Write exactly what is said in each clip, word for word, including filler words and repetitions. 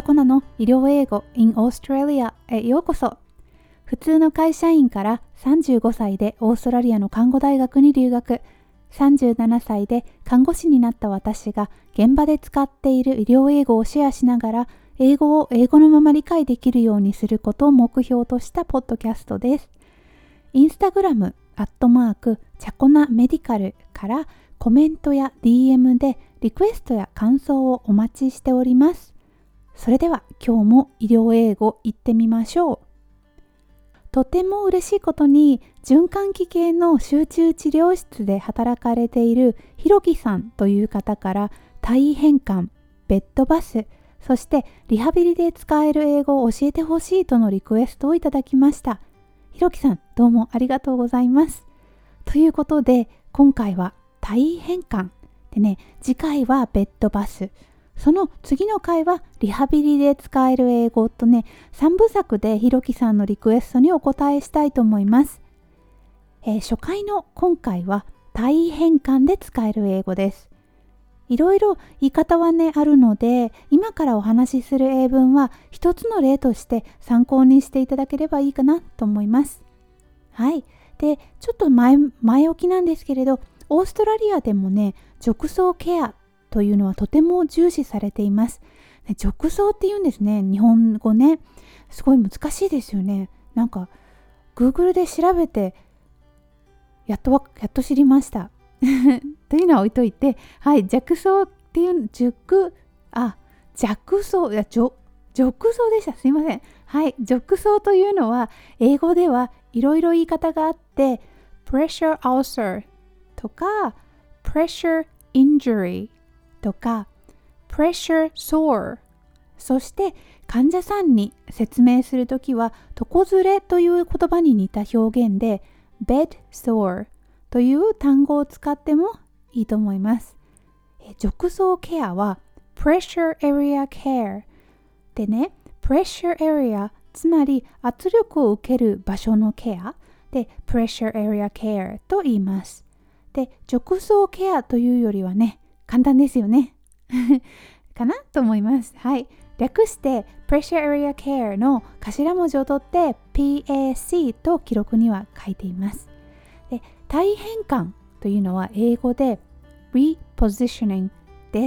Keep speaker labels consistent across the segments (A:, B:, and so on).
A: コナの医療英語 in Australia へようこそ。普通の会社員からさんじゅうごさいでオーストラリアの看護大学に留学、さんじゅうななさいで看護師になった私が現場で使っている医療英語をシェアしながら英語を英語のまま理解できるようにすることを目標としたポッドキャストです。インスタグラム、アットマーク、チャコナメディカルからコメントや ディーエム でリクエストや感想をお待ちしております。それでは今日も医療英語行ってみましょう。とても嬉しいことに循環器系の集中治療室で働かれているひろきさんという方から体位変換、ベッドバス、そしてリハビリで使える英語を教えてほしいとのリクエストをいただきました。ひろきさん、どうもありがとうございます。ということで今回は体位変換でね、次回はベッドバス、その次の回はリハビリで使える英語とね、さんぶさくでひろきさんのリクエストにお答えしたいと思います。えー、初回の今回は体位変換で使える英語です。いろいろ言い方はねあるので、今からお話しする英文は一つの例として参考にしていただければいいかなと思います。はい。で、ちょっと前、前置きなんですけれど、オーストラリアでもね、褥瘡ケアというのはとても重視されています。褥瘡って言うんですね。日本語ね。すごい難しいですよね。なんか Google で調べてやっとやっと知りました。というのは置いといて、はい、褥瘡っていう熟あ弱瘡いや褥褥瘡でした。すいません。はい、褥瘡というのは英語ではいろいろ言い方があって、pressure ulcer とか pressure injury とか pressure sore、 そして患者さんに説明するときは床ずれという言葉に似た表現で bed sore という単語を使ってもいいと思います。褥瘡ケアは pressure area care でね、pressure area つまり圧力を受ける場所のケアで pressure area care と言います。で、褥瘡ケアというよりはね、簡単ですよね。かなと思います。はい。略して pressure area care の頭文字を取って ピーエーシー と記録には書いています。で、体位変換というのは英語で repositioning です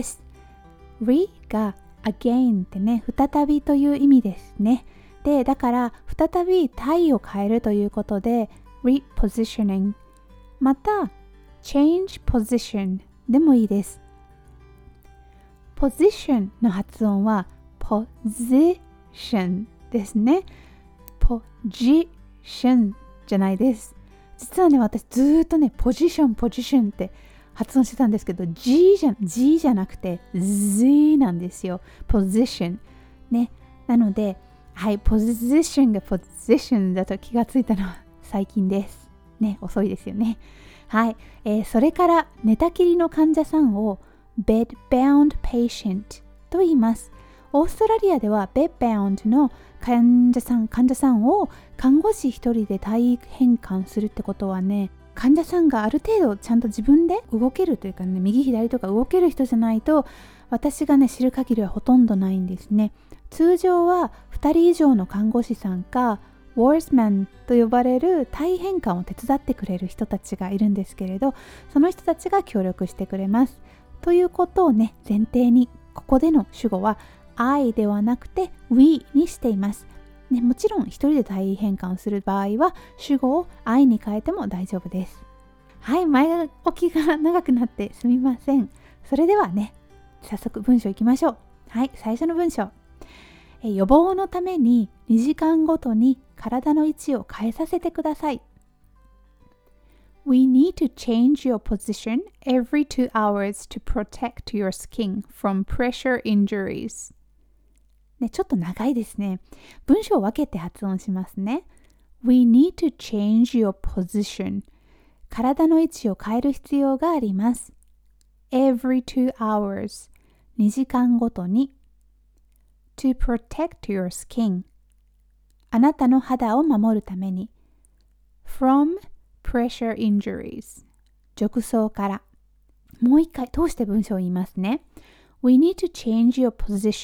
A: 。re が again ってね、再びという意味ですね。で、だから再び体位を変えるということで repositioning、 また change position でもいいです。position の発音は position ですね。position じゃないです。実はね、私ずーっとね、ポジション、ポジションって発音してたんですけど、G じゃ、G じゃなくて Z なんですよ。position。ね。なので、はい、position が position だと気がついたのは最近です。ね、遅いですよね。はい。えー、それから寝たきりの患者さんを bedbound patient と言います。オーストラリアでは bedbound の患者さん、患者さんを看護師一人で体位変換するってことはね、患者さんがある程度ちゃんと自分で動けるというかね、右左とか動ける人じゃないと、私がね知る限りはほとんどないんですね。通常はふたり以上の看護師さんかウォーズマンと呼ばれる体位変換を手伝ってくれる人たちがいるんですけれど、その人たちが協力してくれます。ということをね前提に、ここでの主語は I ではなくて We にしています。ね、もちろん一人で体位変換をする場合は主語を I に変えても大丈夫です。はい、前置きが長くなってすみません。それではね、早速文章いきましょう。はい、最初の文章。え予防のためににじかんごとに体の位置を変えさせてください。We need to change your position every two hours to protect your skin from pressure injuries. ね、ちょっと長いですね。文章を分けて発音しますね。We need to change your position. 体の位置を変える必要があります。Every two hours. にじかんごとに。To protect your skin. あなたの肌を守るために。From pressure injuries. 褥瘡から。もう一回通して文章を言いますね。We need to change your position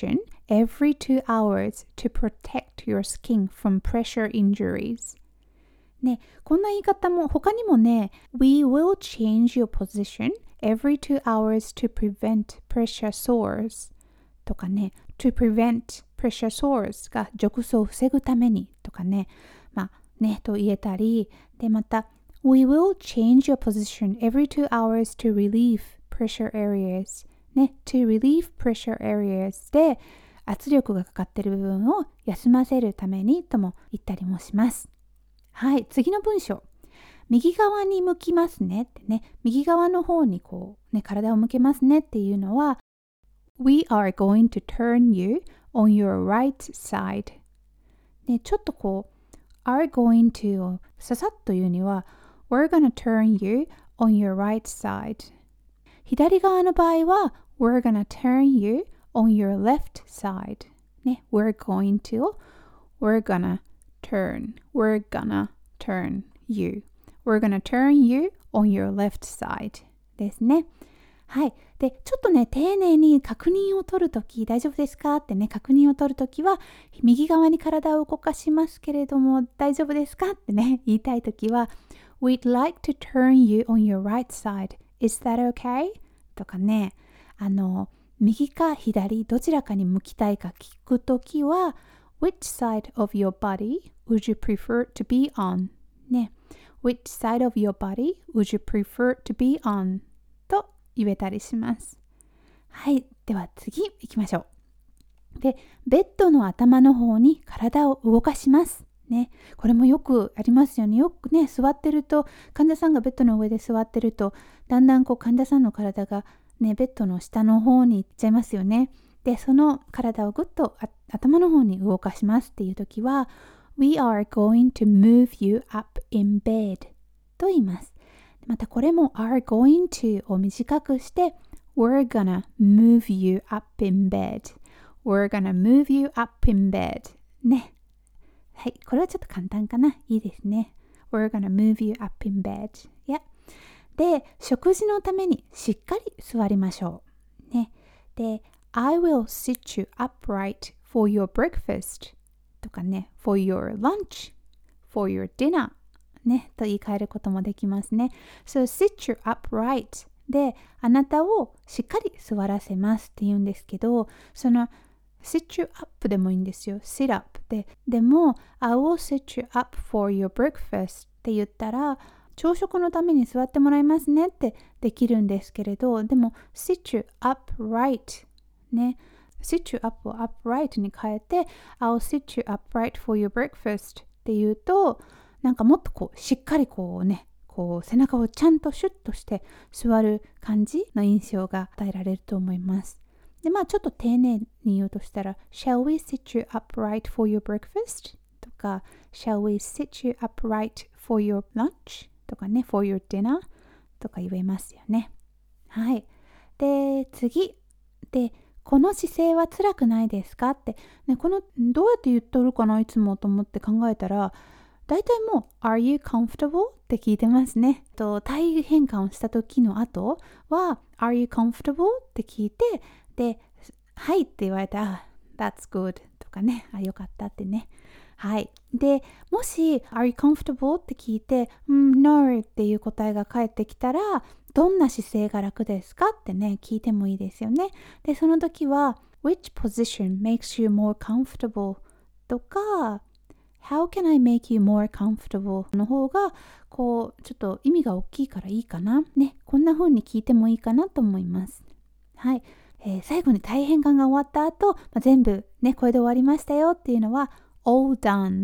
A: every two hours to protect your skin from pressure injuries. ね、こんな言い方も他にもね、We will change your position every two hours to prevent pressure sores とかね、to prevent pressure sores が褥瘡を防ぐためにとかね、まあね、と言えたり、でまた、We will change your position every two hours to relieve pressure areas ね、to relieve pressure areas で圧力がかかっている部分を休ませるためにとも言ったりもします。はい、次の文章。右側に向きますねってね、右側の方にこうね、体を向けますねっていうのは、We are going to turn you on your right side。ね、ちょっとこう、are going to をささっと言うには、We're gonna turn you on your right side。左側の場合は、We're gonna turn you on your left side。ね、We're going to、We're gonna turn, we're gonna turn you. We're gonna turn you on your left side ですね。はい。で、ちょっとね、丁寧に確認を取るとき、大丈夫ですかってね、確認を取るときは、右側に体を動かしますけれども、大丈夫ですかってね、言いたいときは、We'd like to turn you on your right side. Is that okay? とかね、あの、右か左、どちらかに向きたいか聞くときは、Which side of your body would you prefer to be on? ね。Which side of your body would you prefer to be on? と言えたりします。はい。では次行きましょう。で、ベッドの頭の方に体を動かします。ね。これもよくありますよね。よくね、座ってると、患者さんがベッドの上で座ってると、だんだんこう患者さんの体がね、ベッドの下の方に行っちゃいますよね。で、その体をぐっと頭の方に動かしますっていうときは We are going to move you up in bed と言います。またこれも are going to を短くして We're gonna move you up in bed We're gonna move you up in bed ね。はい、これはちょっと簡単かな。いいですね。We're gonna move you up in bed、yeah. で、食事のためにしっかり座りましょう。ね。で、I will sit you upright for your breakfast とかね、for your lunch, for your dinner ね、と言い換えることもできますね。So sit you upright で、あなたをしっかり座らせますって言うんですけど、その sit you up でもいいんですよ。sit up で。でも、I will sit you up for your breakfast って言ったら、朝食のために座ってもらいますねってできるんですけれど、でも sit you upright ね、sit you up を upright に変えて I'll sit you upright for your breakfast って言うと、なんかもっとこうしっかりこうね、こう背中をちゃんとシュッとして座る感じの印象が与えられると思います。で、まあちょっと丁寧に言うとしたら Shall we sit you upright for your breakfast? とか Shall we sit you upright for your lunch? とかね、for your dinner? とか言えますよね。はい。で、次。で、この姿勢は辛くないですかって、ね、このどうやって言っとるかないつもと思って考えたら、大体もう Are you comfortable? って聞いてますね。と体変換をした時の後は Are you comfortable? って聞いて、で、はいって言われたら That's good とかね、あ、よかったってね。はい。で、もし Are you comfortable? って聞いて、うん、No っていう答えが返ってきたら、どんな姿勢が楽ですかってね、聞いてもいいですよね。で、その時は Which position makes you more comfortable? とか How can I make you more comfortable? の方がこうちょっと意味が大きいからいいかな。ね、こんな風に聞いてもいいかなと思います。はい。えー、最後に体変換が終わった後、まあ、全部ね、これで終わりましたよっていうのは All done.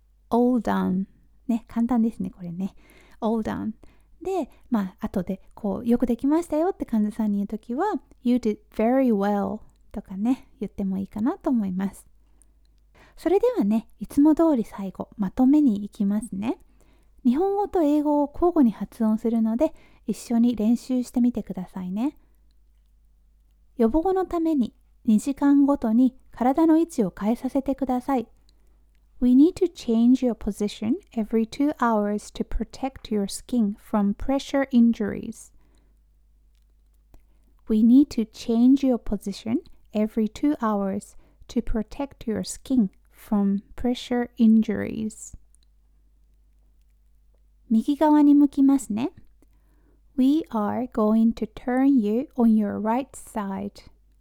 A: All done. ね、簡単ですね、これね。All done.で、まあ、後で、こう、よくできましたよって患者さんに言うときは、You did very well とかね、言ってもいいかなと思います。それではね、いつも通り最後、まとめに行きますね。日本語と英語を交互に発音するので、一緒に練習してみてくださいね。予防のために、にじかんごとに体の位置を変えさせてください。We need to change your position every two hours to protect your skin from pressure injuries. We need to change your position every two hours to protect your skin from pressure injuries. 右側に向きますね。We are going to turn you on your right side.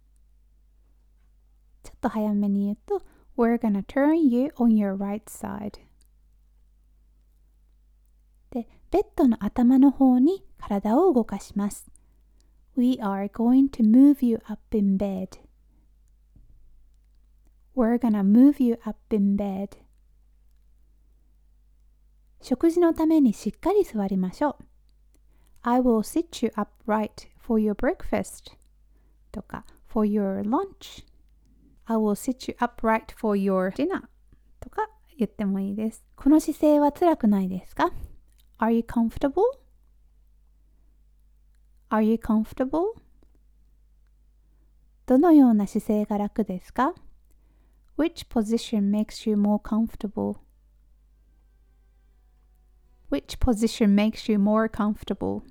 A: ちょっと早めに言うと We're gonna turn you on your right side. で、ベッドの頭の方に体を動かします。We are going to move you up in bed. We're gonna move you up in bed. 食事のためにしっかり座りましょう。I will sit you upright for your breakfast とか for your lunch. I will sit you upright for your dinner とか言ってもいいです。この姿勢は辛くないですか？ Are you comfortable? Are you comfortable? どのような姿勢が楽ですか？ Which position makes you more comfortable? Which position makes you more comfortable?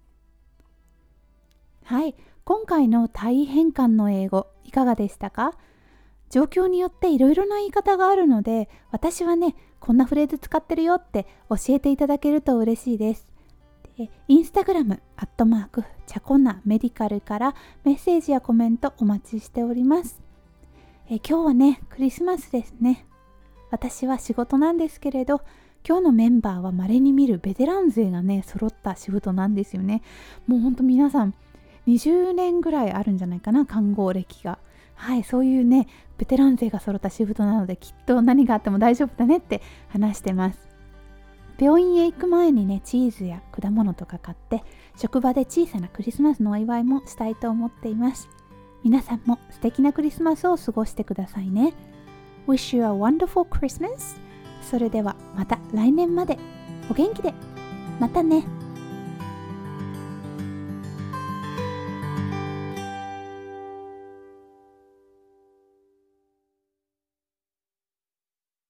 A: はい、今回の体位変換の英語いかがでしたか？状況によっていろいろな言い方があるので、私はね、こんなフレーズ使ってるよって教えていただけると嬉しいです。で、インスタグラム、アットマーク、チャコナメディカルからメッセージやコメントお待ちしております。え今日はね、クリスマスですね。私は仕事なんですけれど、今日のメンバーは稀に見るベテラン勢がね、揃った仕事なんですよね。もうほんと皆さん、にじゅうねんぐらいあるんじゃないかな、看護歴が。はい、そういうね、ベテラン勢が揃った仕事なので、きっと何があっても大丈夫だねって話してます。病院へ行く前にね、チーズや果物とか買って、職場で小さなクリスマスのお祝いもしたいと思っています。皆さんも素敵なクリスマスを過ごしてくださいね。Wish you a wonderful Christmas! それではまた来年までお元気で。またね。